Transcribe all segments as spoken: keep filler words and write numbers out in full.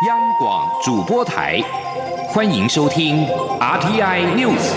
央广主播台，欢迎收听 R T I News。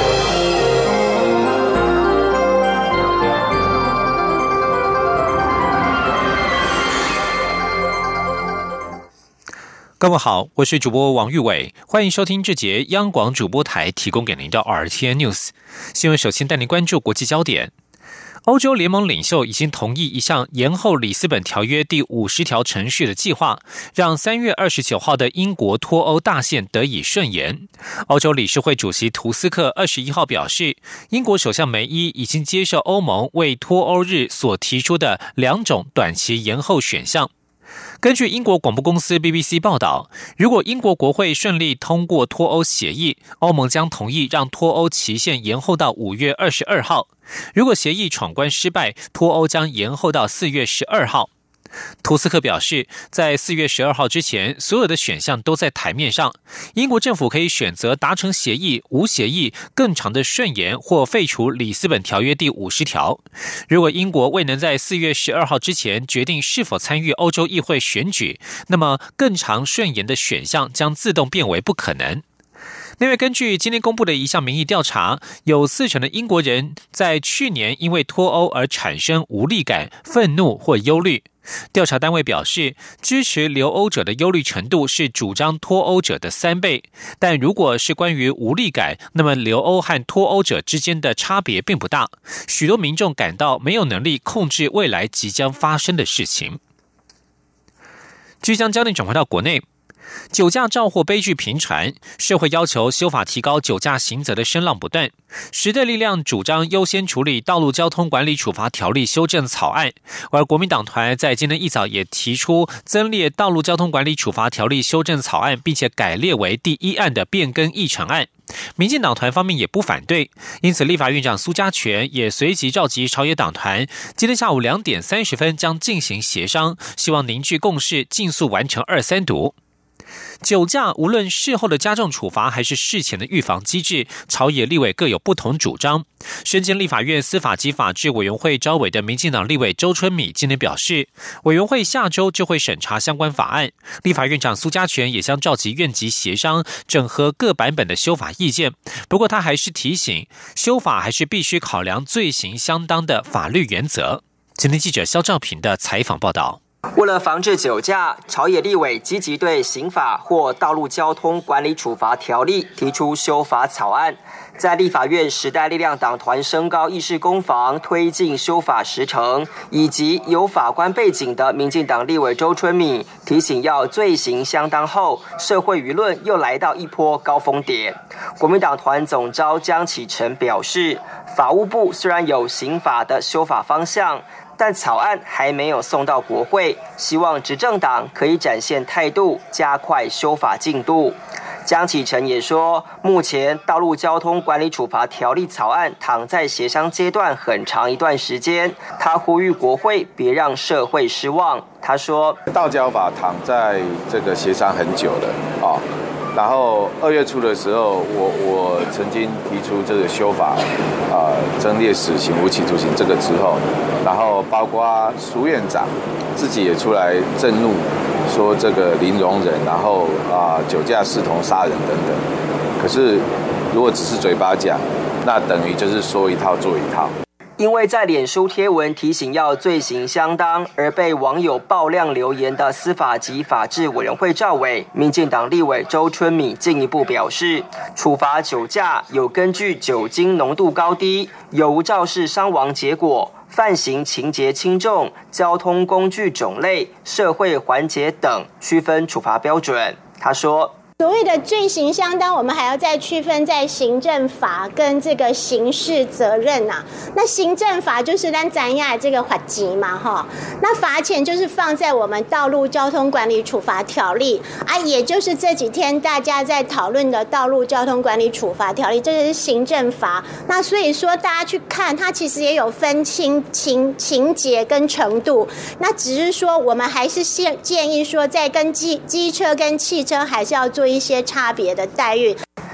各位好，我是主播王玉伟，欢迎收听这节央广主播台提供给您的 R T I News 新闻。首先带您关注国际焦点。欧洲联盟领袖已经同意一项延后里斯本条约第五十条程序的计划，让三月二十九号的英国脱欧大限得以顺延。欧洲理事会主席图斯克二十一号表示，英国首相梅伊已经接受欧盟为脱欧日所提出的两种短期延后选项。根据英国广播公司 B B C 报道，如果英国国会顺利通过脱欧协议，欧盟将同意让脱欧期限延后到五月二十二号。如果协议闯关失败，脱欧将延后到四月十二号。图斯克表示，在四月十二号之前，所有的选项都在台面上。英国政府可以选择达成协议、无协议、更长的顺延或废除里斯本条约第五十条。如果英国未能在四月十二号之前决定是否参与欧洲议会选举，那么更长顺延的选项将自动变为不可能。另外，根据今天公布的一项民意调查，有四成的英国人在去年因为脱欧而产生无力感、愤怒或忧虑。调查单位表示，支持留欧者的忧虑程度是主张脱欧者的三倍，但如果是关于无力感，那么留欧和脱欧者之间的差别并不大。许多民众感到没有能力控制未来即将发生的事情。即将焦点转回到国内，酒驾肇祸悲剧频传，社会要求修法提高酒驾刑责的声浪不断。时代力量主张优先处理道路交通管理处罚条例修正草案，而国民党团在今天一早也提出增列道路交通管理处罚条例修正草案，并且改列为第一案的变更议程案。民进党团方面也不反对，因此立法院长苏家全也随即召集朝野党团，今天下午两点三十分将进行协商，希望凝聚共识，尽速完成二三读。酒驾无论事后的加重处罚还是事前的预防机制，朝野立委各有不同主张。身兼立法院司法及法制委员会召委的民进党立委周春米今天表示，委员会下周就会审查相关法案，立法院长苏家全也将召集院级协商，整合各版本的修法意见。不过他还是提醒，修法还是必须考量罪行相当的法律原则。今天记者肖兆平的采访报道。 为了防治酒驾，朝野立委积极对刑法或道路交通管理处罚条例提出修法草案。在立法院时代力量党团升高议事攻防，推进修法时程，以及有法官背景的民进党立委周春米提醒，要罪行相当后，社会舆论又来到一波高峰点。国民党团总召江启臣表示，法务部虽然有刑法的修法方向，但草案还没有送到国会，希望执政党可以展现态度，加快修法进度。江启臣也说，目前道路交通管理处罚条例草案躺在协商阶段很长一段时间，他呼吁国会别让社会失望。他说， 道交法躺在这个协商很久了啊。然后二月初的时候，我我曾经提出这个修法，啊、呃，增列死刑、无期徒刑这个之后，然后包括苏院长自己也出来震怒，说这个零容忍，然后啊、呃、酒驾视同杀人等等。可是如果只是嘴巴讲，那等于就是说一套做一套。 因为在脸书贴文提醒要罪行相当，而被网友爆量留言的司法及法制委员会召委民进党立委周春米进一步表示，处罚酒驾有根据酒精浓度高低、有无肇事伤亡结果、犯行情节轻重、交通工具种类、社会环节等区分处罚标准。他说， 所谓的罪行相当，我们还要再区分在行政法跟这个刑事责任啊。那行政法就是咱咱亚这个罚钱嘛，哈。那罚钱就是放在我们道路交通管理处罚条例啊，也就是这几天大家在讨论的道路交通管理处罚条例，这个是行政法。那所以说大家去看，它其实也有分轻情情节跟程度。那只是说我们还是建议说，在跟机机车跟汽车还是要做一些差别的待遇。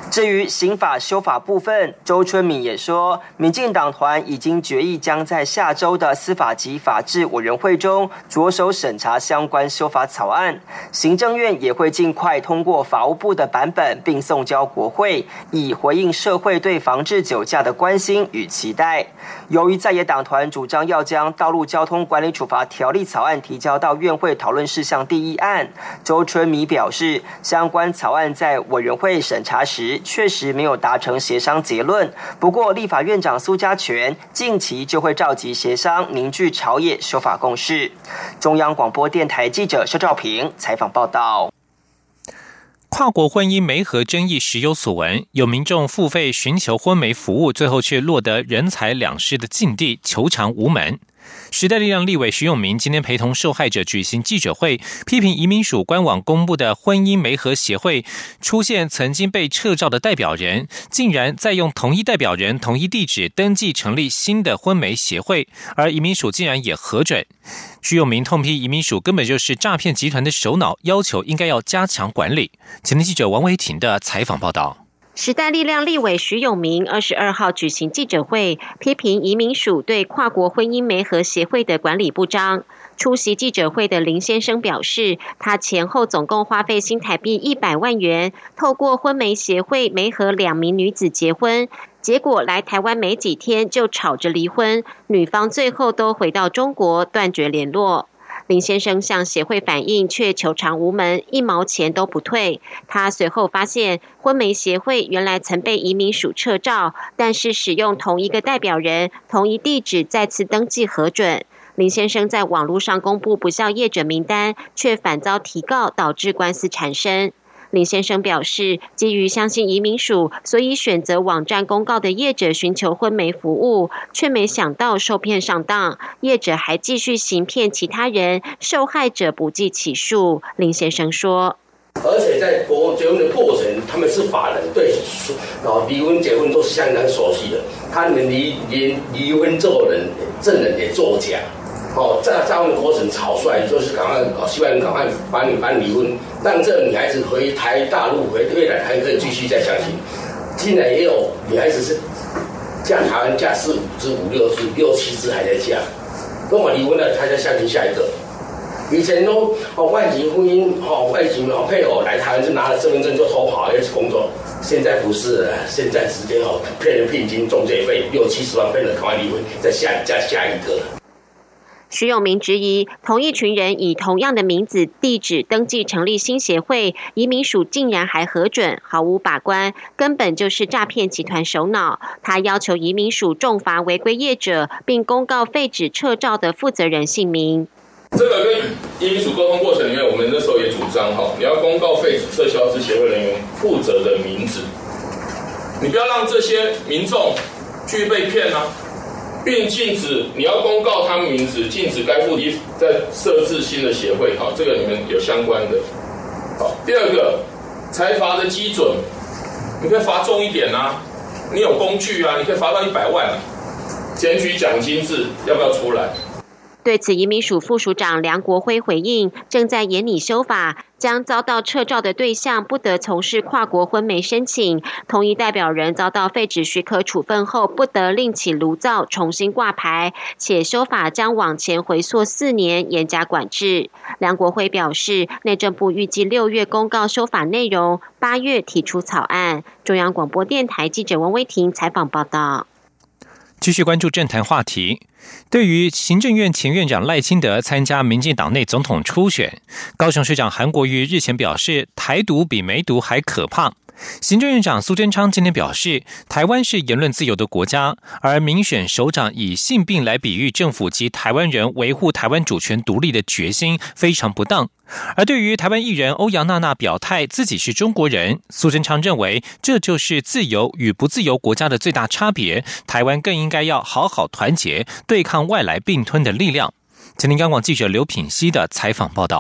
至于刑法修法部分，周春米也说，民进党团已经决议将在下周的司法及法制委员会中着手审查相关修法草案，行政院也会尽快通过法务部的版本，并送交国会，以回应社会对防治酒驾的关心与期待。由于在野党团主张要将道路交通管理处罚条例草案提交到院会讨论事项第一案，周春米表示，相关草案在委员会审查时确实没有达成协商结论，不过立法院长苏家全近期就会召集协商，凝聚朝野修法共识。中央广播电台记者肖兆平采访报道。 跨国婚姻媒合争议时有所闻，有民众付费寻求婚媒服务，最后却落得人财两失的境地，求偿无门。时代力量立委徐永明今天陪同受害者举行记者会，批评移民署官网公布的婚姻媒合协会出现曾经被撤照的代表人，竟然再用同一代表人、同一地址登记成立新的婚媒协会，而移民署竟然也核准。徐永明痛批移民署根本就是诈骗集团的首脑，要求应该要加强管理。前天记者王维婷的采访报道。 时代力量立委徐永明二十二号举行记者会，批评移民署对跨国婚姻媒合协会的管理不彰。出席记者会的林先生表示，他前后总共花费新台币一百万元，透过婚媒协会媒合两名女子结婚，结果来台湾没几天就吵着离婚，女方最后都回到中国断绝联络。林先生向协会反映，却求偿无门，一毛钱都不退。他随后发现，婚媒协会原来曾被移民署撤照，但是使用同一个代表人、同一地址再次登记核准。林先生在网络上公布不肖业者名单，却反遭提告，导致官司缠身。林先生表示，基于相信移民署，所以选择网站公告的业者寻求婚媒服务，却没想到受骗上当，业者还继续行骗其他人，受害者不计其数。林先生说， 而且在结婚的过程，他们是法人，对啊离婚结婚都是相当熟悉的，他们离离离婚做人证人也作假。哦，在这样的过程吵出来，就是赶快哦，希望你赶快把你办离婚，让这个女孩子回台大陆回越南还可以继续再相亲。竟然也有女孩子是嫁台湾嫁四五支、五六支、六七支还在嫁，跟我离婚了，她再相亲下一个。以前都哦外籍婚姻哦外籍哦配偶来台湾就拿了身份证就偷跑要去工作，现在不是了，现在直接哦骗人聘金中介费六七十万，骗人赶快离婚，再下嫁下一个。 徐永明质疑，同一群人以同样的名字、地址登记成立新协会，移民署竟然还核准，毫无把关，根本就是诈骗集团首脑。他要求移民署重罚违规业者，并公告废止撤照的负责人姓名。 这个跟移民署沟通过程里面，我们那时候也主张哈，你要公告废止撤销之协会人员负责的名字，你不要让这些民众去被骗啊。并禁止你要公告他们名字，禁止该户籍再设置新的协会，好，这个你们有相关的。好，第二个，裁罚的基准，你可以罚重一点啊，你有工具啊，你可以罚到一百万啊，检举奖金制要不要出来？ 对此，移民署副署长梁国辉回应，正在研拟修法，将遭到撤照的对象不得从事跨国婚媒申请，同一代表人遭到废止许可处分后，不得另起炉灶重新挂牌，且修法将往前回溯四年，严加管制。梁国辉表示，内政部预计六月公告修法内容，八月提出草案。中央广播电台记者王威婷采访报道。 继续关注政坛话题。对于行政院前院长赖清德参加民进党内总统初选，高雄市长韩国瑜日前表示，台独比梅毒还可怕。行政院长苏贞昌今天表示，台湾是言论自由的国家，而民选首长以性病来比喻政府及台湾人维护台湾主权独立的决心非常不当。而对于台湾艺人欧阳娜娜表态自己是中国人，苏贞昌认为这就是自由与不自由国家的最大差别，台湾更应该要好好团结，对抗外来并吞的力量。前天央广记者刘品熙的采访报道。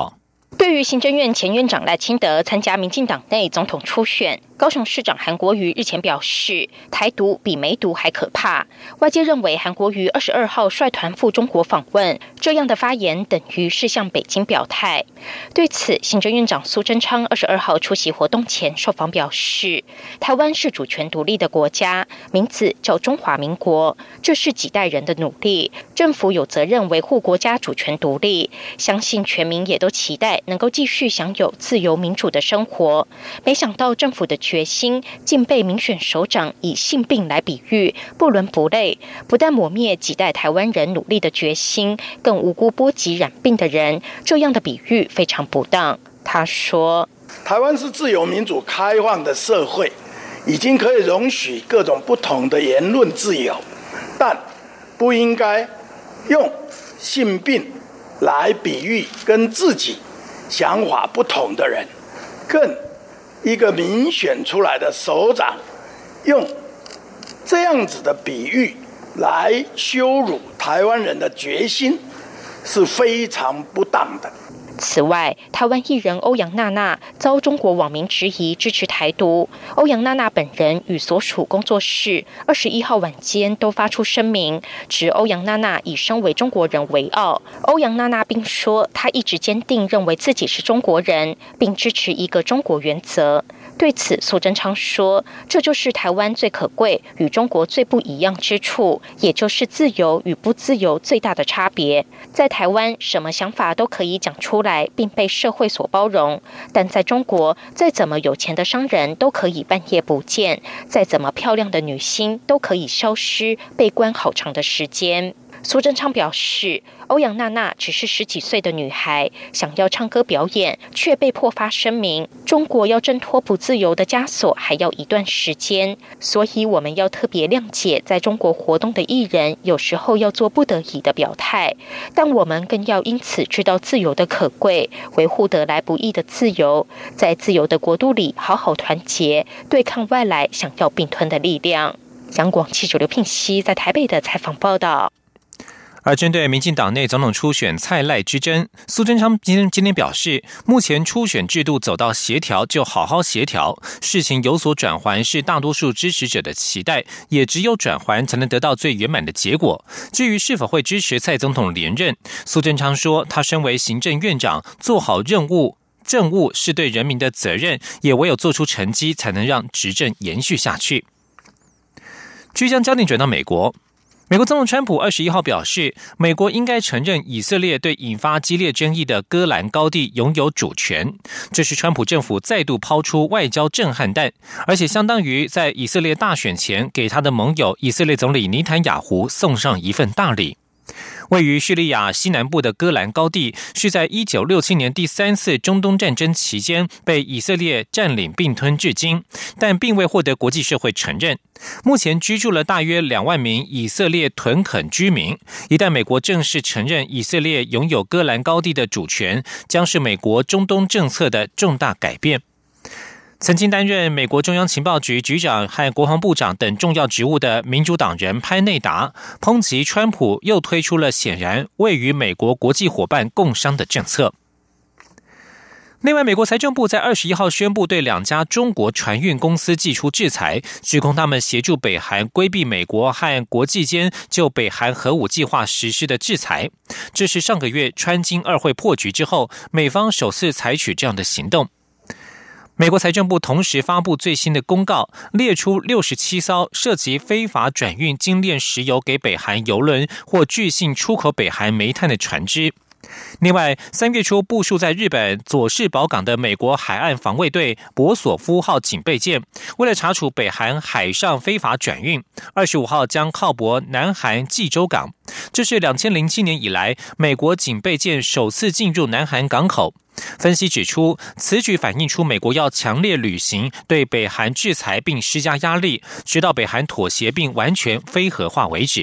对于行政院前院长赖清德参加民进党内总统初选，高雄市长韩国瑜日前表示，台独比梅毒还可怕。外界认为韩国瑜二十二号率团赴中国访问，这样的发言等于是向北京表态。对此，行政院长苏贞昌二十二号出席活动前受访表示，台湾是主权独立的国家，名字叫中华民国，这是几代人的努力，政府有责任维护国家主权独立，相信全民也都期待能够继续享有自由民主的生活。没想到政府的决心竟被民选首长以性病来比喻，不伦不类，不但抹灭几代台湾人努力的决心，更无辜波及染病的人，这样的比喻非常不当。他说， 台湾是自由民主开放的社会，已经可以容许各种不同的言论自由，但不应该用性病来比喻跟自己想法不同的人，更一个民选出来的首长用这样子的比喻来羞辱台湾人的决心，是非常不当的。 此外，台湾艺人欧阳娜娜遭中国网民质疑支持台独。欧阳娜娜本人与所属工作室二十一号晚间都发出声明，指欧阳娜娜以身为中国人为傲。欧阳娜娜并说，她一直坚定认为自己是中国人，并支持一个中国原则。对此，苏贞昌说，这就是台湾最可贵与中国最不一样之处，也就是自由与不自由最大的差别。在台湾，什么想法都可以讲出来，并被社会所包容，但在中国，再怎么有钱的商人都可以半夜不见，再怎么漂亮的女星都可以消失，被关好长的时间。苏贞昌表示，欧阳娜娜只是十几岁的女孩，想要唱歌表演，却被迫发声明，中国要挣脱不自由的枷锁还要一段时间，所以我们要特别谅解在中国活动的艺人有时候要做不得已的表态，但我们更要因此知道自由的可贵，维护得来不易的自由，在自由的国度里好好团结，对抗外来想要并吞的力量。央广记者刘聘熙在台北的采访报道。 而针对民进党内总统初选蔡赖之争，苏贞昌今天今天表示，目前初选制度走到协调就好好协调，事情有所转圜是大多数支持者的期待，也只有转圜才能得到最圆满的结果。至于是否会支持蔡总统连任，苏贞昌说，他身为行政院长，做好任务政务是对人民的责任，也唯有做出成绩，才能让执政延续下去。继续将焦点转到美国。美国总统川普二十一号表示，美国应该承认以色列对引发激烈争议的戈兰高地拥有主权。这是川普政府再度抛出外交震撼弹，而且相当于在以色列大选前给他的盟友以色列总理尼坦雅胡送上一份大礼。位于叙利亚西南部的戈兰高地是在一九六七年第三次中东战争期间被以色列占领并吞至今，但并未获得国际社会承认。目前居住了大约两万名以色列屯垦居民，一旦美国正式承认以色列拥有戈兰高地的主权，将是美国中东政策的重大改变。曾经担任美国中央情报局局长和国防部长等重要职务的民主党人潘内达抨击川普又推出了显然未与美国国际伙伴共商的政策。另外，美国财政部在二十一号宣布对两家中国船运公司祭出制裁，指控他们协助北韩规避美国和国际间就北韩核武计划实施的制裁。这是上个月川金二会破局之后，美方首次采取这样的行动。美国财政部同时发布最新的公告，列出六十七艘涉及非法转运精炼石油给北韩油轮或巨信出口北韩煤炭的船只。另外，三月初部署在日本佐世保港的美国海岸防卫队博索夫号警备舰，为了查处北韩海上非法转运，二十五号将靠泊南韩济州港。这是二零零七年以来美国警备舰首次进入南韩港口。分析指出，此举反映出美国要强烈履行对北韩制裁并施加压力，直到北韩妥协并完全非核化为止。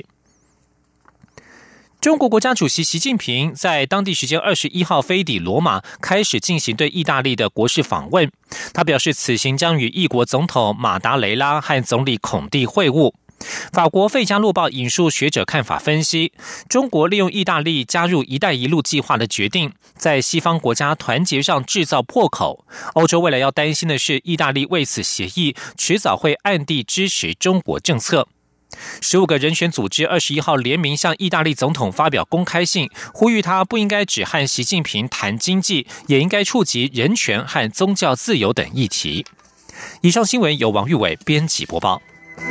中国国家主席习近平在当地时间二十一号飞抵罗马，开始进行对意大利的国事访问。他表示，此行将与意国总统马达雷拉和总理孔蒂会晤。 法国《费加洛报》引述学者看法分析，中国利用意大利加入“一带一路”计划的决定，在西方国家团结上制造破口。欧洲未来要担心的是，意大利为此协议迟早会暗地支持中国政策。十五个人权组织二十一号联名向意大利总统发表公开信，呼吁他不应该只和习近平谈经济，也应该触及人权和宗教自由等议题。以上新闻由王玉伟编辑播报。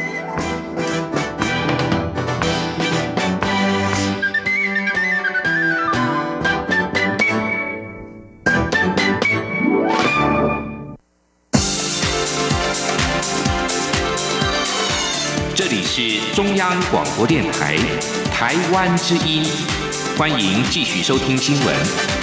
这里是中央广播电台台湾之音，欢迎继续收听新闻。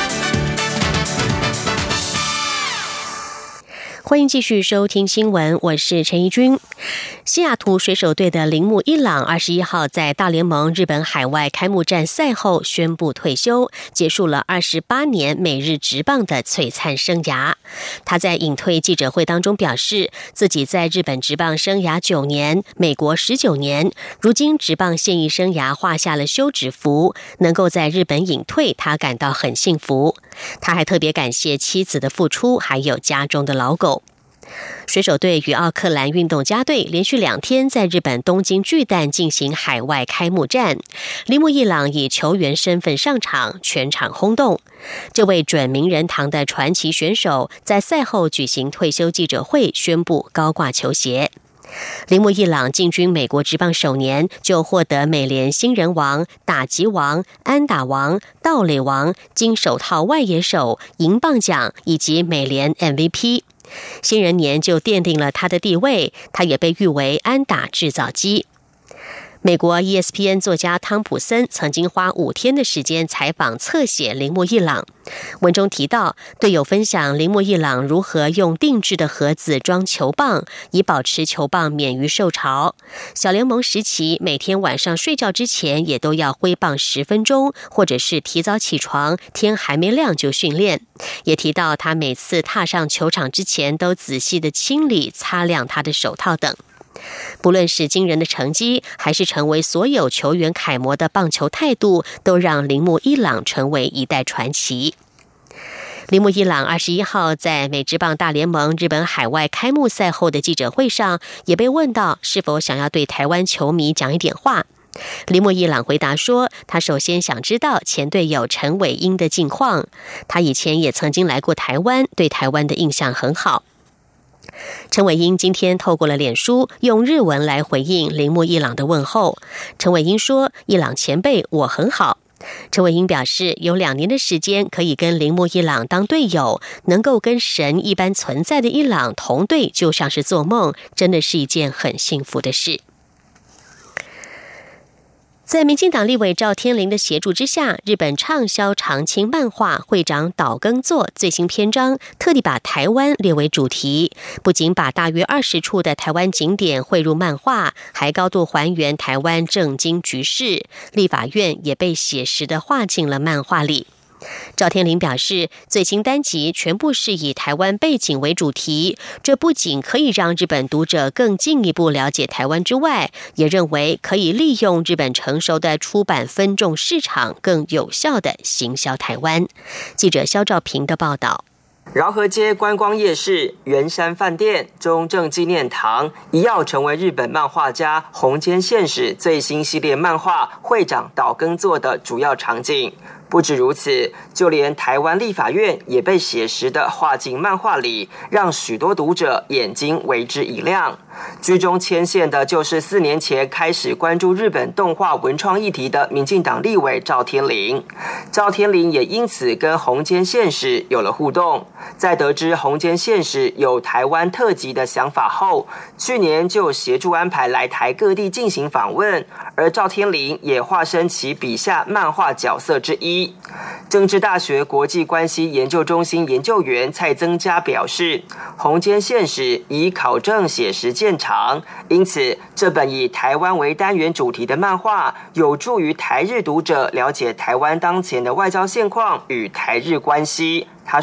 欢迎继续收听新闻，我是陈怡君。西雅图水手队的铃木一朗二十一号在大联盟日本海外开幕战赛后宣布退休，结束了二十八年美日职棒的璀璨生涯。他在隐退记者会当中表示，自己在日本职棒生涯九年，美国十九年，如今职棒现役生涯画下了休止符，能够在日本隐退，他感到很幸福。他还特别感谢妻子的付出，还有家中的老狗。水手队与奥克兰运动家队连续两天在日本东京巨蛋进行海外开幕战，铃木一朗以球员身份上场，全场轰动。这位准名人堂的传奇选手在赛后举行退休记者会，宣布高挂球鞋。铃木一朗进军美国职棒首年就获得美联新人王、打击王、安打王、盗垒王、金手套外野手、银棒奖以及美联 M V P。新人年就奠定了他的地位，他也被誉为安打制造机。美国 E S P N 作家汤普森曾经花五天的时间采访侧写铃木一朗，文中提到，队友分享铃木一朗如何用定制的盒子装球棒，以保持球棒免于受潮。小联盟时期，每天晚上睡觉之前也都要挥棒十分钟，或者是提早起床，天还没亮就训练。也提到他每次踏上球场之前都仔细的清理、擦亮他的手套等。不论是惊人的成绩，还是成为所有球员楷模的棒球态度，都让铃木一朗成为一代传奇。铃木一朗二十一号在美职棒大联盟日本海外开幕赛后的记者会上，也被问到是否想要对台湾球迷讲一点话。铃木一朗回答说，他首先想知道前队友陈伟英的近况，他以前也曾经来过台湾，对台湾的印象很好。陈伟英今天透过了脸书，用日文来回应铃木一朗的问候。陈伟英说，一朗前辈，我很好。陈伟英表示，有两年的时间可以跟铃木一朗当队友，能够跟神一般存在的一朗同队，就像是做梦，真的是一件很幸福的事。在民进党立委赵天麟的协助之下，日本畅销长青漫画《会长岛耕作》最新篇章特地把台湾列为主题，不仅把大约二十处的台湾景点汇入漫画，还高度还原台湾政经局势，立法院也被写实地画进了漫画里。赵天麟表示，最新单集全部是以台湾背景为主题，这不仅可以让日本读者更进一步了解台湾之外，也认为可以利用日本成熟的出版分众市场，更有效地行销台湾。记者肖兆平的报道。 饶河街观光夜市、圆山饭店、中正纪念堂一跃成为日本漫画家红间宪史最新系列漫画《会长岛耕作》的主要场景。不止如此，就连台湾立法院也被写实地画进漫画里，让许多读者眼睛为之一亮。居中牵线的就是四年前开始关注日本动画文创议题的民进党立委赵天麟。赵天麟也因此跟红间宪史有了互动。在得知红间宪史有台湾特辑的想法后，去年就协助安排来台各地进行访问，而赵天麟也化身其笔下漫画角色之一。政治大学国际关系研究中心研究员蔡增加表示，红间宪史以考证写实见长，因此这本以台湾为单元主题的漫画有助于台日读者了解台湾当前的外交现况与台日关系。他说，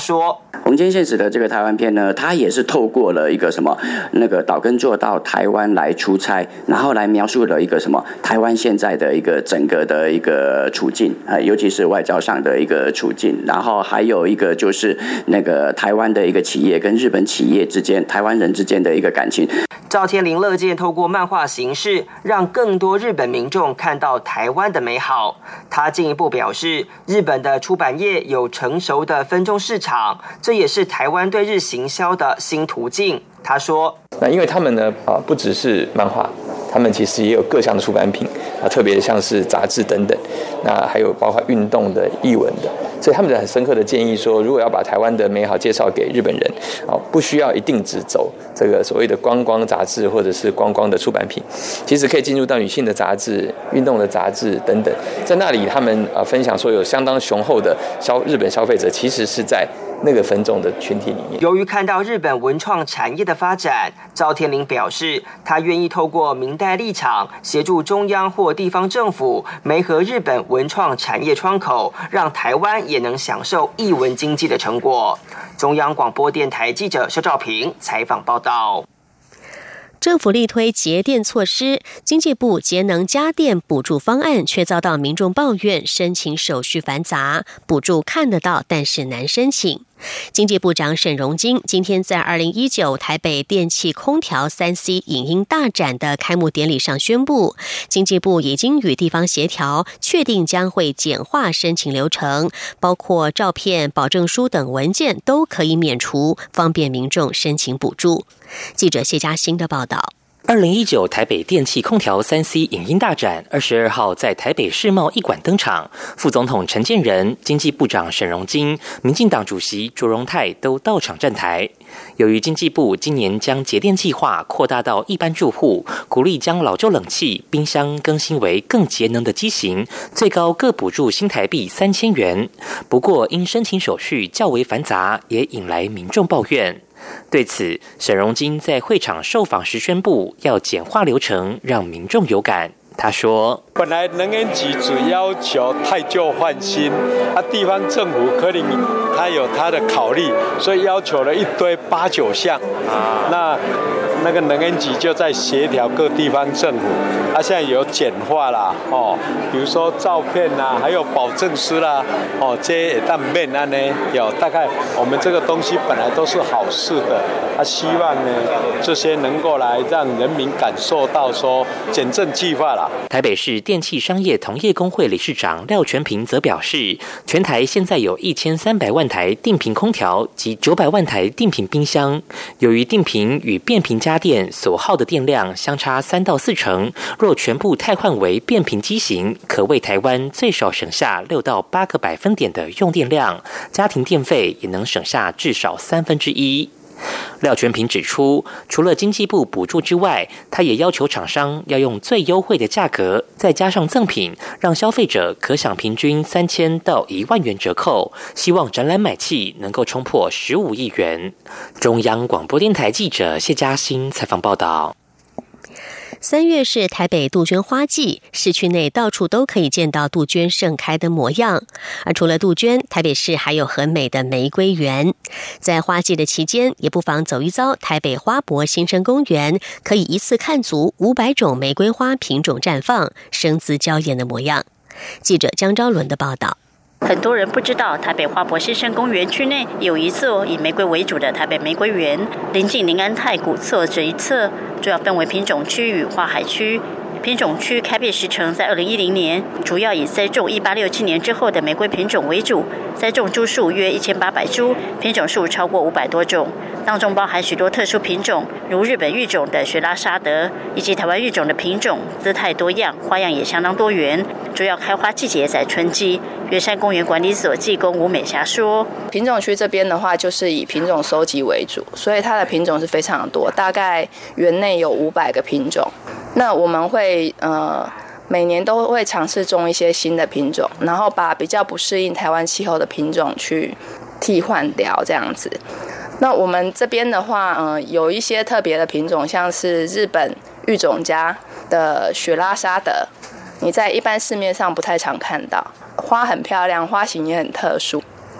红间现实的这个台湾片呢，它也是透过了一个什么那个岛根座到台湾来出差，然后来描述了一个什么台湾现在的一个整个的一个处境啊、呃，尤其是外交上的一个处境，然后还有一个就是那个台湾的一个企业跟日本企业之间、台湾人之间的一个感情。 赵天麟乐见透过漫画形式，让更多日本民众看到台湾的美好。他进一步表示，日本的出版业有成熟的分众市场，这也是台湾对日行销的新途径。他说：“ 那因为他们呢啊，不只是漫画，他们其实也有各项的出版品啊，特别像是杂志等等，那还有包括运动的、艺文的。所以他们很深刻的建议说，如果要把台湾的美好介绍给日本人，啊，不需要一定只走这个所谓的观光杂志或者是观光的出版品，其实可以进入到女性的杂志、运动的杂志等等，在那里他们啊分享说有相当雄厚的消日本消费者，其实是在那个分众的群体里面。 由于看到日本文创产业的发展，赵天麟表示，他愿意透过明代立场，协助中央或地方政府媒合日本文创产业窗口，让台湾也能享受艺文经济的成果。中央广播电台记者肖兆平采访报道。 政府力推节电措施，经济部节能家电补助方案却遭到民众抱怨，申请手续繁杂，补助看得到，但是难申请。经济部长沈荣津今天在二零一九台北电气空调 三 C 影音大展的开幕典礼上宣布，经济部已经与地方协调，确定将会简化申请流程，包括照片、保证书等文件都可以免除，方便民众申请补助。记者谢嘉欣的报道。 二零一九台北电气空调 三 C 影音大展二十二号在台北世贸一馆登场，副总统陈建仁、经济部长沈荣津、民进党主席卓荣泰都到场站台。由于经济部今年将节电计划扩大到一般住户，鼓励将老旧冷气、冰箱更新为更节能的机型，最高各补助新台币三千元。不过因申请手续较为繁杂，也引来民众抱怨。对此，沈荣津在会场受访时宣布要简化流程，让民众有感。他说：“ 本来能源局只要求汰旧换新，啊，地方政府可能他有他的考虑，所以要求了一堆八九项啊。那那个能源局就在协调各地方政府，啊，现在有简化啦，哦，比如说照片啦，还有保证书啦，哦，这些但面案呢，有大概我们这个东西本来都是好事的，啊，希望呢这些能够来让人民感受到说简政计划啦。” 台北市电气商业同业工会理事长廖全平则表示，全台现在有一千三百万台定频空调及九百万台定频冰箱，由于定频与变频家电所耗的电量相差三到四成，若全部汰换为变频机型，可为台湾最少省下六到八个百分点的用电量，家庭电费也能省下至少三分之一。廖全平指出，除了经济部补助之外，他也要求厂商要用最优惠的价格，再加上赠品，让消费者可享平均三千到一万元折扣，希望展览买气能够冲破十五亿元。中央广播电台记者谢嘉欣采访报道。 三月是台北杜鹃花季，市区内到处都可以见到杜鹃盛开的模样。而除了杜鹃，台北市还有很美的玫瑰园。在花季的期间，也不妨走一遭台北花博新生公园，可以一次看足五百种玫瑰花品种绽放，生姿娇艳的模样。记者江昭伦的报道。 很多人不知道，台北花博新生公园区内有一座以玫瑰为主的台北玫瑰园，临近林安太古侧这一侧，主要分为品种区与花海区。品种区开辟时程在二零一零年，主要以栽种一八六七年之后的玫瑰品种为主，栽种株数约一千八百株，品种数超过五百多种，当中包含许多特殊品种，如日本育种的雪拉沙德，以及台湾育种的品种，姿态多样，花样也相当多元。主要开花季节在春季。圆山公园管理所技工吴美霞说：“ 品种区这边的话，就是以品种收集为主，所以它的品种是非常多，大概园内有五百个品种。那我们会呃每年都会尝试种一些新的品种，然后把比较不适应台湾气候的品种去替换掉，这样子。那我们这边的话，呃，有一些特别的品种，像是日本育种家的雪拉沙德，你在一般市面上不太常看到。花很漂亮，花型也很特殊。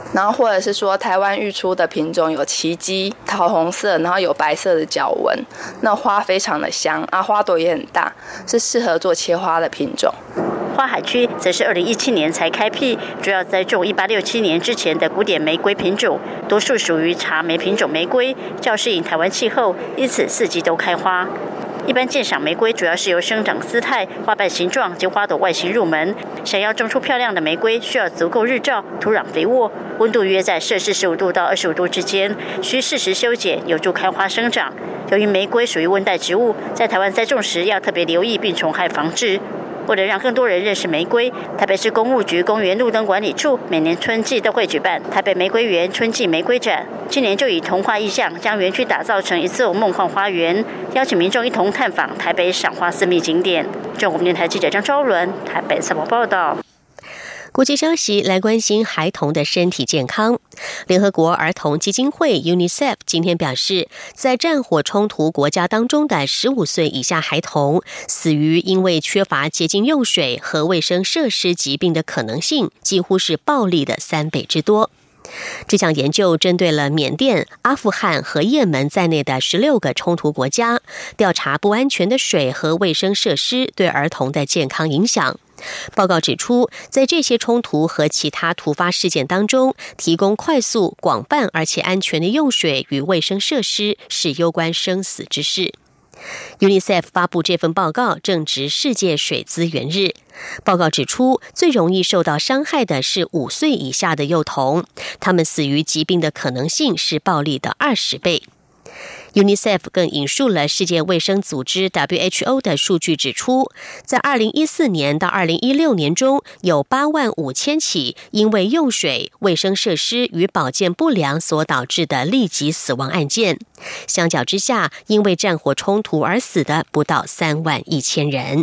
然后或者是说台湾育出的品种有奇迹，桃红色，然后有白色的角纹，那花非常的香啊，花朵也很大，是适合做切花的品种。 花海区则是二零一七年才开辟，主要栽种一八六七年之前的古典玫瑰品种，多数属于茶梅品种玫瑰，较适应台湾气候，因此四季都开花。一般鉴赏玫瑰主要是由生长姿态、花瓣形状及花朵外形入门。想要种出漂亮的玫瑰，需要足够日照、土壤肥沃，温度约在摄氏十五度到二十五度之间，需适时修剪，有助开花生长。由于玫瑰属于温带植物，在台湾栽种时要特别留意病虫害防治。为了让更多人认识玫瑰，台北市公务局公园路灯管理处每年春季都会举办台北玫瑰园春季玫瑰展。今年就以童话意象将园区打造成一座梦幻花园，邀请民众一同探访台北赏花私密景点。中国电台记者张昭伦台北采访报道。 国际消息来关心孩童的身体健康。联合国儿童基金会 UNICEF 今天表示，在战火冲突国家当中的十五岁以下孩童死于因为缺乏洁净用水和卫生设施疾病的可能性，几乎是暴力的三倍之多。这项研究针对了缅甸、阿富汗和也门在内的十六个冲突国家，调查不安全的水和卫生设施对儿童的健康影响。报告指出，在这些冲突和其他突发事件当中，提供快速、广泛而且安全的用水与卫生设施是攸关生死之事。UNICEF 发布这份报告正值世界水资源日。报告指出，最容易受到伤害的是五岁以下的幼童，他们死于疾病的可能性是暴力的二十倍。UNICEF 更引述了世界卫生组织 W H O 的数据指出，在二零一四年到二零一六年中，有八万五千起因为用水、卫生设施与保健不良所导致的立即死亡案件。相较之下，因为战火冲突而死的不到三万一千人。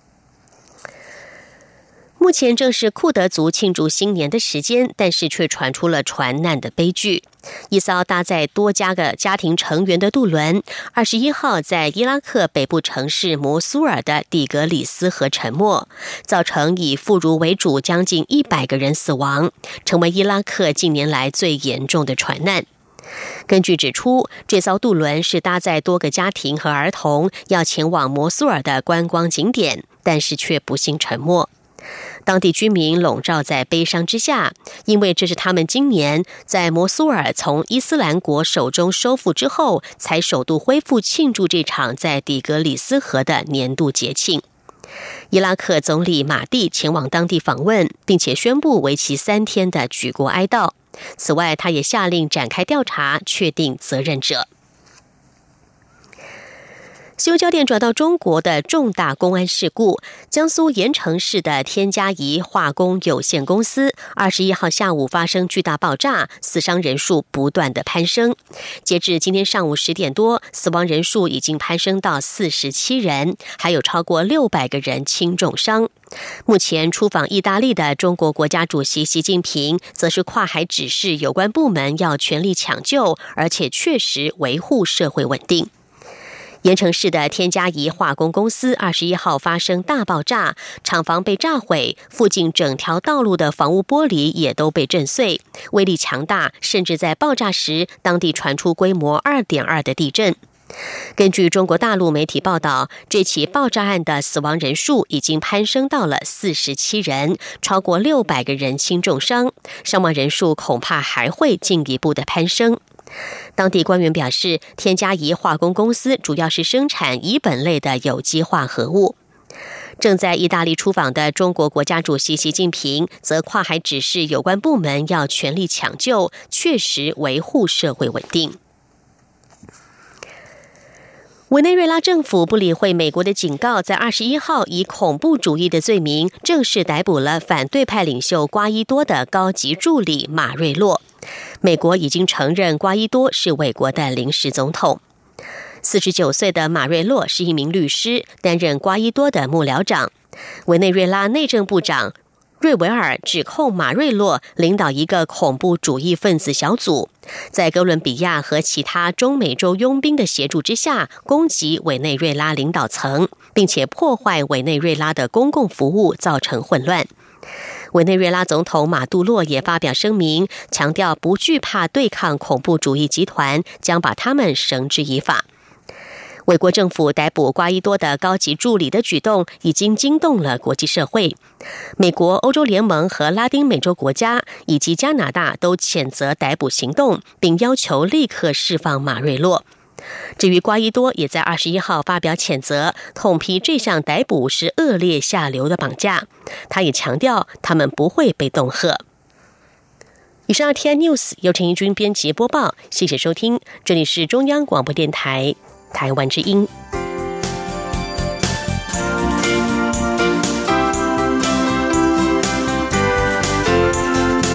目前正是库德族庆祝新年的时间，但是却传出了船难的悲剧。一艘搭载多家个家庭成员的渡轮，二十一号在伊拉克北部城市摩苏尔的底格里斯河沉没，造成以妇孺为主将近一百个人死亡，成为伊拉克近年来最严重的船难。根据指出，这艘渡轮是搭载多个家庭和儿童要前往摩苏尔的观光景点，但是却不幸沉没。当地居民笼罩在悲伤之下，因为这是他们今年在摩苏尔从伊斯兰国手中收复之后，才首度恢复庆祝这场在底格里斯河的年度节庆。伊拉克总理马蒂前往当地访问，并且宣布为期三天的举国哀悼。此外，他也下令展开调查，确定责任者。新闻焦点转到中国的重大公安事故，江苏盐城市的天嘉宜化工有限公司二十一号下午发生巨大爆炸，死伤人数不断的攀升。截至今天上午十点多，死亡人数已经攀升到四十七人，还有超过六百个人轻重伤。目前出访意大利的中国国家主席习近平则是跨海指示有关部门要全力抢救，而且确实维护社会稳定。盐城市的天嘉宜化工公司二十一号发生大爆炸，厂房被炸毁，附近整条道路的房屋玻璃也都被震碎，威力强大，甚至在爆炸时，当地传出规模 二点二 的地震。根据中国大陆媒体报道，这起爆炸案的死亡人数已经攀升到了四十七人，超过六百个人轻重伤，伤亡人数恐怕还会进一步的攀升。当地官员表示，天嘉宜化工公司主要是生产乙苯类的有机化合物。正在意大利出访的中国国家主席习近平则跨海指示有关部门要全力抢救，确实维护社会稳定。委内瑞拉政府不理会美国的警告，在二十一号以恐怖主义的罪名正式逮捕了反对派领袖瓜伊多的高级助理马瑞洛。美国已经承认瓜伊多是委国的临时总统。四十九岁的马瑞洛是一名律师，担任瓜伊多的幕僚长。委内瑞拉内政部长瑞维尔指控马瑞洛领导一个恐怖主义分子小组，在哥伦比亚和其他中美洲佣兵的协助之下，攻击委内瑞拉领导层，并且破坏委内瑞拉的公共服务，造成混乱。 委内瑞拉总统马杜洛也发表声明，强调不惧怕对抗恐怖主义集团，将把他们绳之以法。美国政府逮捕瓜伊多的高级助理的举动已经惊动了国际社会。美国、欧洲联盟和拉丁美洲国家以及加拿大都谴责逮捕行动，并要求立刻释放马瑞洛。至于瓜伊多，也在二十一号发表谴责，痛批这项逮捕是恶劣下流的绑架。他也强调，他们不会被恫吓。以上 R T I News 由陈怡君编辑播报，谢谢收听，这里是中央广播电台台湾之音。